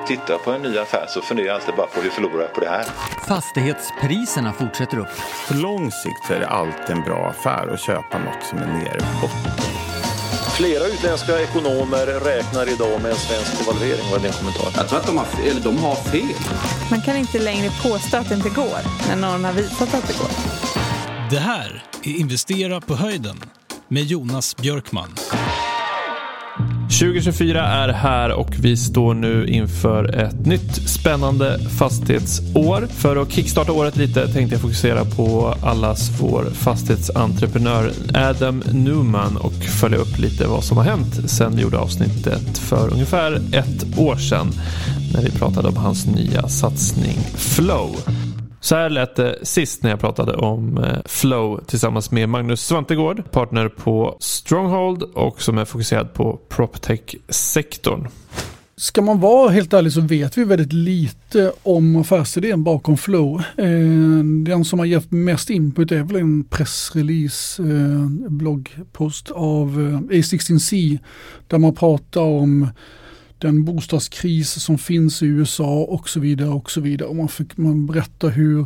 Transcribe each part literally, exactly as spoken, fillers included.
tittar på en ny affär så funderar jag alltid bara på hur förlorar jag på det här. Fastighetspriserna fortsätter upp. För lång sikt så är det alltid en bra affär att köpa något som är nere på botten. Flera utländska ekonomer räknar idag med en svensk devalvering. Vad är din kommentar? Jag tror att de har, eller de har fel. Man kan inte längre påstå att det inte går när någon har visat att det går. Det här är Investera på höjden med Jonas Björkman. tjugo tjugofyra är här och vi står nu inför ett nytt spännande fastighetsår. För att kickstarta året lite tänkte jag fokusera på allas vår fastighetsentreprenör Adam Newman och följa upp lite vad som har hänt sedan vi gjorde avsnittet för ungefär ett år sedan när vi pratade om hans nya satsning Flow. Så här lät det sist när jag pratade om Flow tillsammans med Magnus Svantegård, partner på Stronghold och som är fokuserad på PropTech-sektorn. Ska man vara helt ärlig så vet vi väldigt lite om affärsidén bakom Flow. Den som har gett mest input är väl en pressrelease, bloggpost av A sexton C där man pratar om den bostadskris som finns i U S A och så vidare och så vidare. Och man, fick, man berättar hur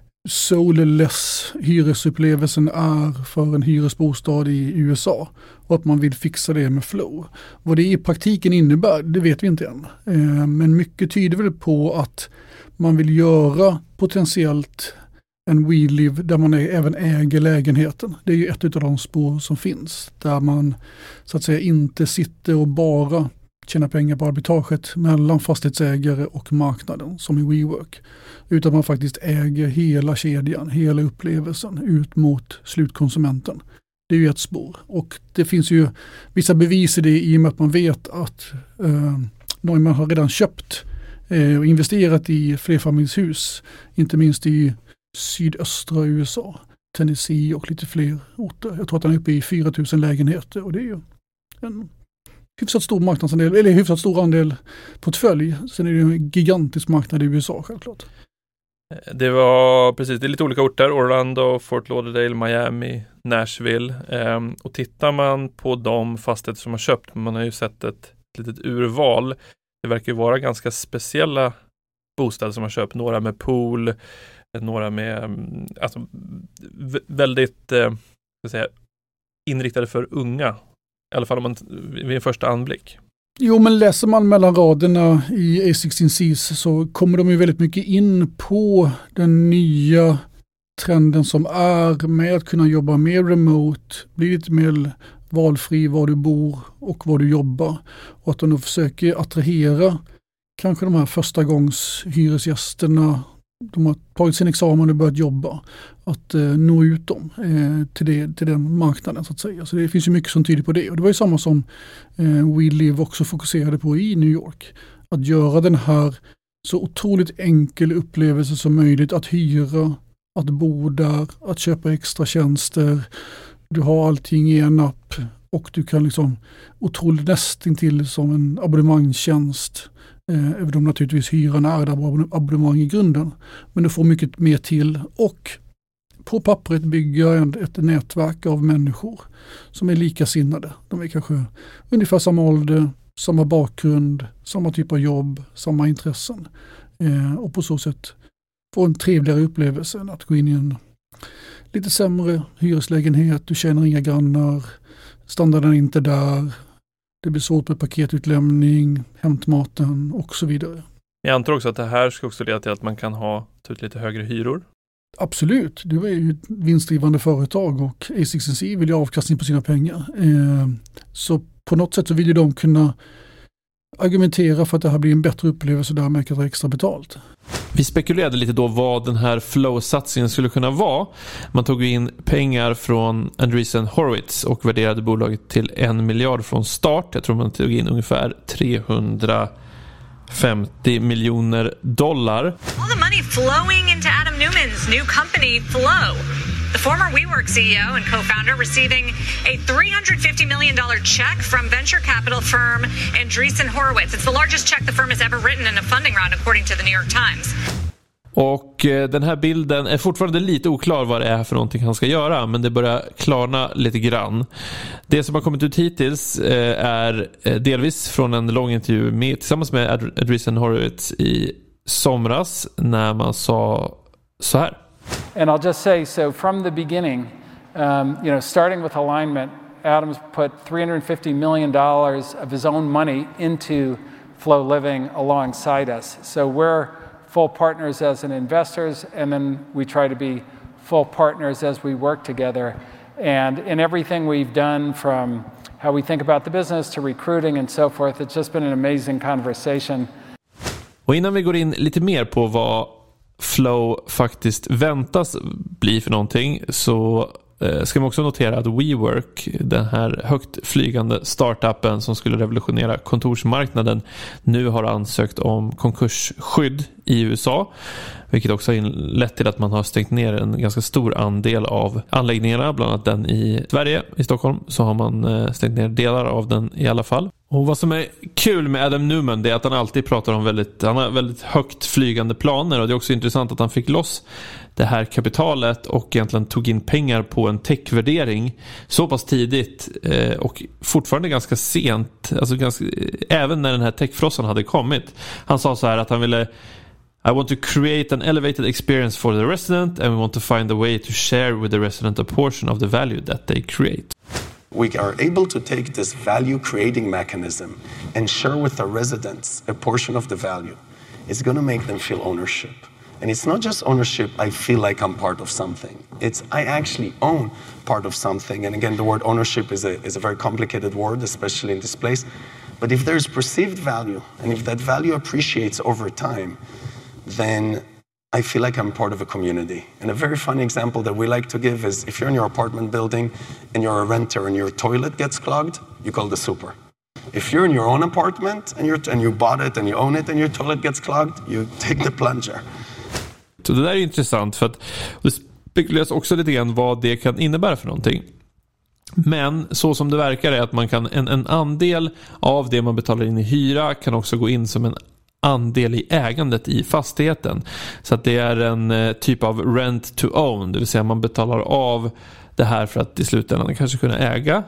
soulless hyresupplevelsen är för en hyresbostad i U S A och att man vill fixa det med Flow. Vad det i praktiken innebär, det vet vi inte än. Eh, men mycket tyder väl på att man vill göra potentiellt en WeLive där man är, även äger lägenheten. Det är ju ett av de spår som finns där man så att säga inte sitter och bara tjäna pengar på arbitraget mellan fastighetsägare och marknaden som i WeWork. Utan man faktiskt äger hela kedjan, hela upplevelsen ut mot slutkonsumenten. Det är ju ett spår. Och det finns ju vissa bevis i det i och med att man vet att eh, någon har redan köpt eh, och investerat i flerfamiljshus. Inte minst i sydöstra U S A, Tennessee och lite fler orter. Jag tror att han är uppe i fyra tusen lägenheter och det är ju en hyfsat stor marknadsandel, eller hyfsat stor andel portfölj. Sen är det en gigantisk marknad i U S A självklart. Det var precis, det är lite olika orter. Orlando, Fort Lauderdale, Miami, Nashville. Ehm, och tittar man på de fastigheter som har köpt, man har ju sett ett litet urval. Det verkar ju vara ganska speciella bostäder som har köpt. Några med pool, några med alltså, väldigt eh, ska säga, inriktade för unga. I alla fall om man vid en första anblick. Jo, men läser man mellan raderna i A sexton C så kommer de ju väldigt mycket in på den nya trenden som är med att kunna jobba mer remote, bli lite mer valfri var du bor och var du jobbar. Och att de då försöker attrahera kanske de här första gångs hyresgästerna. De har tagit sin examen och börjat jobba. Att eh, nå ut dem eh, till, det, till den marknaden så att säga. Så det finns ju mycket som tyder på det. Och det var ju samma som eh, WeLive också fokuserade på i New York. Att göra den här så otroligt enkel upplevelse som möjligt. Att hyra, att bo där, att köpa extra tjänster. Du har allting i en app. Och du kan liksom otroligt nästintill som en abonnemangstjänst. Eh, även om naturligtvis hyran är där abonnemang i grunden. Men du får mycket mer till och på pappret bygga ett nätverk av människor som är likasinnade. De är kanske ungefär samma ålder, samma bakgrund, samma typ av jobb, samma intressen. Eh, och på så sätt få en trevligare upplevelse än att gå in i en lite sämre hyreslägenhet. Du känner inga grannar, standarden är inte där. Det blir svårt med paketutlämning, hämtmaten och så vidare. Jag antar också att det här ska också leda till att man kan ha ut lite högre hyror. Absolut, det är ju ett vinstdrivande företag och A sexton C vill ju avkastning på sina pengar. Eh, så på något sätt så vill ju de kunna argumentera för att det här blir en bättre upplevelse där man kan ta extra betalt. Vi spekulerade lite då vad den här Flow-satsningen skulle kunna vara. Man tog in pengar från Andreessen Horowitz och värderade bolaget till en miljard från start. Jag tror man tog in ungefär trehundrafemtio miljoner dollar. All the money flowing into Adam Newman's new company Flow. The former WeWork C E O and co-founder receiving a three hundred fifty million dollars check from venture capital firm Andreessen Horowitz. It's the largest check the firm has ever written in a funding round according to the New York Times. Och den här bilden är fortfarande lite oklar vad det är för någonting han ska göra, men det börjar klarna lite grann. Det som har kommit ut hittills är delvis från en lång intervju med, tillsammans med Andreessen Horowitz i somras när man sa så här. And I'll just say, so from the beginning, um, you know, starting with alignment, Adam's put three hundred fifty million dollars of his own money into Flow Living alongside us. So we're full partners as an investors, and then we try to be full partners as we work together. And in everything we've done, from how we think about the business to recruiting and so forth, it's just been an amazing conversation. Och innan vi går in lite mer på vad Flow faktiskt väntas bli för någonting, så ska man också notera att WeWork, den här högt flygande startupen som skulle revolutionera kontorsmarknaden, nu har ansökt om konkursskydd i U S A, vilket också har lett till att man har stängt ner en ganska stor andel av anläggningarna, bland annat den i Sverige, i Stockholm, så har man stängt ner delar av den i alla fall. Och vad som är kul med Adam Neumann, det är att han alltid pratar om väldigt, han har väldigt högt flygande planer, och det är också intressant att han fick loss det här kapitalet och egentligen tog in pengar på en techvärdering så pass tidigt eh, och fortfarande ganska sent, alltså ganska, även när den här techfrossan hade kommit. Han sa så här att han ville I want to create an elevated experience for the resident, and we want to find a way to share with the resident a portion of the value that they create. We are able to take this value creating mechanism and share with the residents a portion of the value. It's going to make them feel ownership. And it's not just ownership, I feel like I'm part of something. It's I actually own part of something. And again, the word ownership is a, is a very complicated word, especially in this place. But if there's perceived value, and if that value appreciates over time, then I feel like I'm part of a community. And a very funny example that we like to give is if you're in your apartment building and you're a renter and your toilet gets clogged, you call the super. If you're in your own apartment and, you're, and you bought it and you own it and your toilet gets clogged, you take the plunger. Så det där är intressant, för att det spekuleras också lite grann vad det kan innebära för någonting. Men så som det verkar är att man kan, en, en andel av det man betalar in i hyra kan också gå in som en andel i ägandet i fastigheten. Så att det är en eh, typ av rent to own, det vill säga man betalar av det här för att i slutändan kanske kunna äga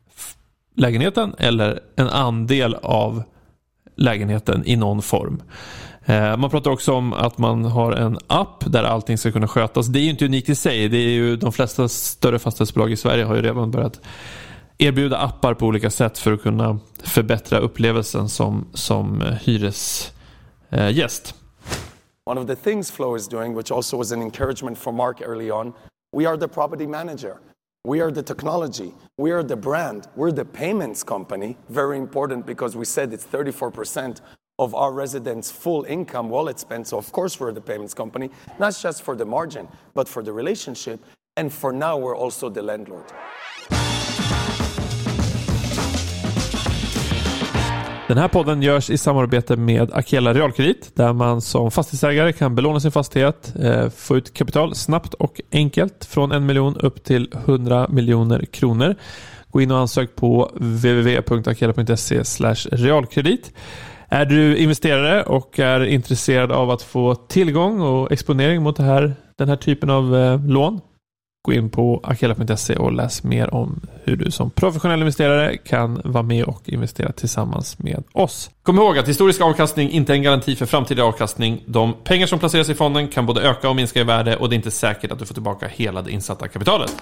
lägenheten eller en andel av lägenheten i någon form. Eh, man pratar också om att man har en app där allting ska kunna skötas. Det är ju inte unikt i sig. Det är ju, de flesta större fastighetsbolag i Sverige har ju redan börjat erbjuda appar på olika sätt för att kunna förbättra upplevelsen som, som hyresgäst. One of the things Flow is doing, which also was an encouragement for Mark early on, we are the property manager. We are the technology. We are the brand. We're the payments company. Very important because we said it's thirty-four percent of our residents' full income wallet spend. So of course we're the payments company, not just for the margin, but for the relationship. And for now we're also the landlord. Den här podden görs i samarbete med Akela Realkredit, där man som fastighetsägare kan belåna sin fastighet, eh, få ut kapital snabbt och enkelt från en miljon upp till hundra miljoner kronor. Gå in och ansök på w w w punkt akela punkt se slash realkredit. Är du investerare och är intresserad av att få tillgång och exponering mot det här, den här typen av eh, lån, gå in på akela punkt se och läs mer om hur du som professionell investerare kan vara med och investera tillsammans med oss. Kom ihåg att historisk avkastning inte är en garanti för framtida avkastning. De pengar som placeras i fonden kan både öka och minska i värde, och det är inte säkert att du får tillbaka hela det insatta kapitalet.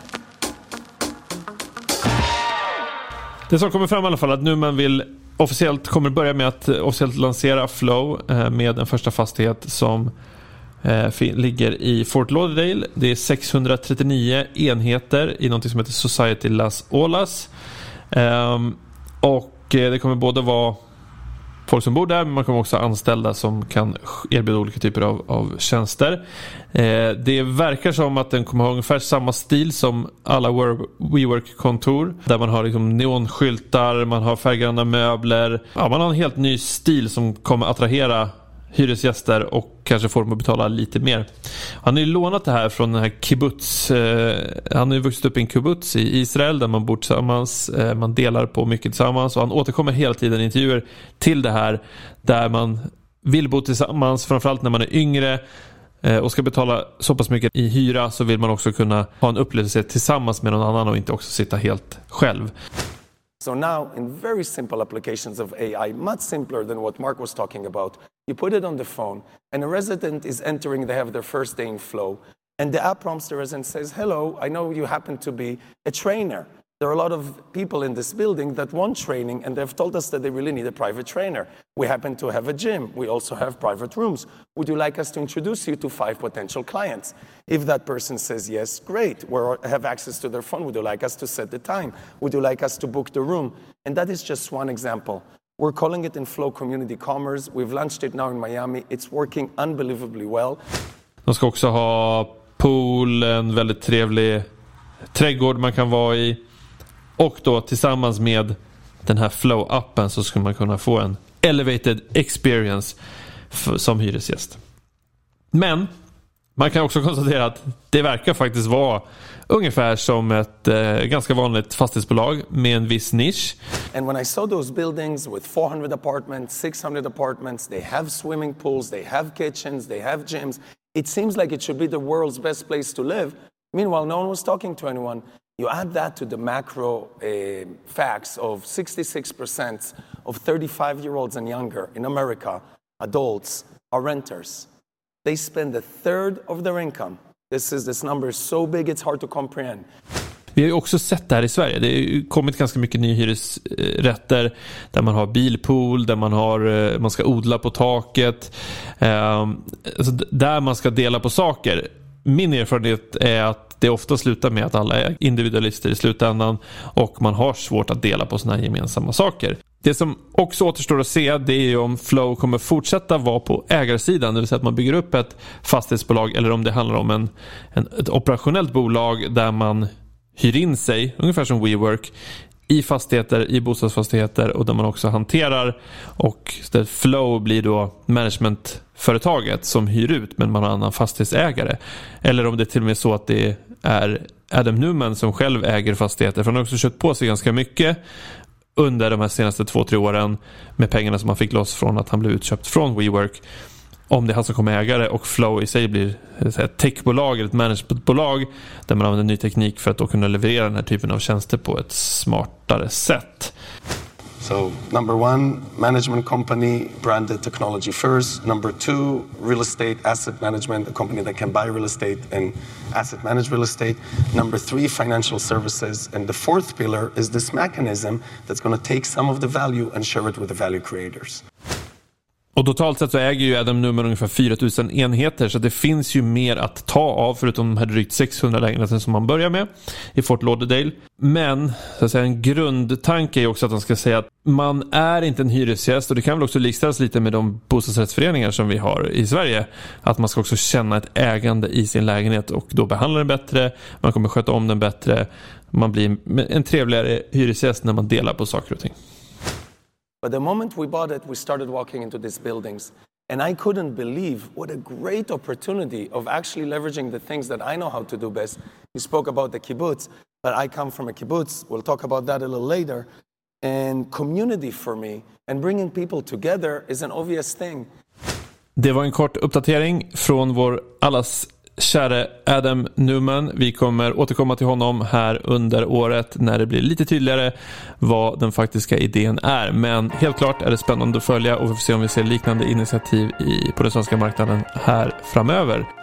Det som kommer fram i alla fall att nu man vill officiellt kommer börja med att officiellt lansera Flow med en första fastighet som Eh, ligger i Fort Lauderdale. Det är sexhundratrettionio enheter i något som heter Society Las Olas. Eh, och eh, det kommer både vara folk som bor där, men man kommer också ha anställda som kan erbjuda olika typer av, av tjänster. Eh, det verkar som att den kommer ha ungefär samma stil som alla WeWork-kontor, där man har liksom neonskyltar, man har färggranna möbler. Ja, man har en helt ny stil som kommer attrahera hyresgäster och kanske får dem att betala lite mer. Han har ju lånat det här från den här kibbutz. Eh, han har ju vuxit upp i en kibbutz i Israel där man bor tillsammans. Eh, man delar på mycket tillsammans, och han återkommer hela tiden i intervjuer till det här där man vill bo tillsammans, framförallt när man är yngre. och ska betala så pass mycket i hyra, så vill man också kunna ha en upplevelse tillsammans med någon annan och inte också sitta helt själv. So now, in very simple applications of A I, much simpler than what Mark was talking about, you put it on the phone, and a resident is entering, they have their first day in Flow, and the app prompts the resident, says, hello, I know you happen to be a trainer. There are a lot of people in this building that want training, and they've told us that they really need a private trainer. We happen to have a gym. We also have private rooms. Would you like us to introduce you to five potential clients? If that person says yes, great. We have access to their phone. Would you like us to set the time? Would you like us to book the room? And that is just one example. We're calling it in Flow Community Commerce. We've launched it now in Miami. It's working unbelievably well. De ska också ha pool, en väldigt trevlig trädgård man kan vara i. Och då tillsammans med den här Flow-appen så skulle man kunna få en elevated experience för, som hyresgäst. Men man kan också konstatera att det verkar faktiskt vara ungefär som ett eh, ganska vanligt fastighetsbolag med en viss nisch. And when I saw those buildings with four hundred apartments, six hundred apartments, they have swimming pools, they have kitchens, they have gyms. It seems like it should be the world's best place to live. Meanwhile, no one was talking to anyone. You add that to the macro uh, facts of sixty-six percent of thirty-five-year-olds and younger in America, adults, are renters. They spend a third of their income. This is this number is so big it's hard to comprehend. Vi har ju också sett det här i Sverige. Det har ju kommit ganska mycket nya hyresrätter där man har bilpool, där man har man ska odla på taket, eh, alltså där man ska dela på saker. Min erfarenhet är att det ofta slutar med att alla är individualister i slutändan och man har svårt att dela på såna här gemensamma saker. Det som också återstår att se, det är ju om Flow kommer fortsätta vara på ägarsidan, det vill säga att man bygger upp ett fastighetsbolag, eller om det handlar om en, en, ett operationellt bolag där man hyr in sig, ungefär som WeWork, i fastigheter, i bostadsfastigheter, och där man också hanterar, och där Flow blir då managementföretaget som hyr ut, men man har en annan fastighetsägare. Eller om det är till och med så att det är Adam Newman som själv äger fastigheter, för han har också köpt på sig ganska mycket under de här senaste två, tre åren med pengarna som han fick loss från att han blev utköpt från WeWork. Om det är han som kommer ägare och Flow i sig blir ett techbolag eller ett managementbolag där man använder ny teknik för att då kunna leverera den här typen av tjänster på ett smartare sätt. So, number one, management company, branded technology first. Number two, real estate asset management, a company that can buy real estate and asset manage real estate. Number three, financial services. And the fourth pillar is this mechanism that's going to take some of the value and share it with the value creators. Och totalt sett så äger ju Adam Newman ungefär fyra tusen enheter, så det finns ju mer att ta av förutom de här drygt sexhundra lägenheter som man börjar med i Fort Lauderdale. Men så att säga, en grundtanke är också att man ska säga att man är inte en hyresgäst, och det kan väl också likställas lite med de bostadsrättsföreningar som vi har i Sverige, att man ska också känna ett ägande i sin lägenhet och då behandla den bättre, man kommer sköta om den bättre, man blir en trevligare hyresgäst när man delar på saker och ting. But the moment we bought it, we started walking into these buildings. And I couldn't believe what a great opportunity of actually leveraging the things that I know how to do best. You spoke about the kibbutz, but I come from a kibbutz. We'll talk about that a little later. And community for me and bringing people together is an obvious thing. Det var en kort uppdatering från vår allas käre Adam Newman. Vi kommer återkomma till honom här under året när det blir lite tydligare vad den faktiska idén är. Men helt klart är det spännande att följa, och vi får se om vi ser liknande initiativ i, på den svenska marknaden här framöver.